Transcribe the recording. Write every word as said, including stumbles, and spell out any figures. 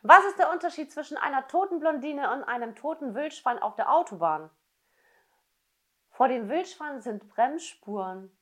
Was ist der Unterschied zwischen einer toten Blondine und einem toten Wildschwein auf der Autobahn? Vor dem Wildschwein sind Bremsspuren.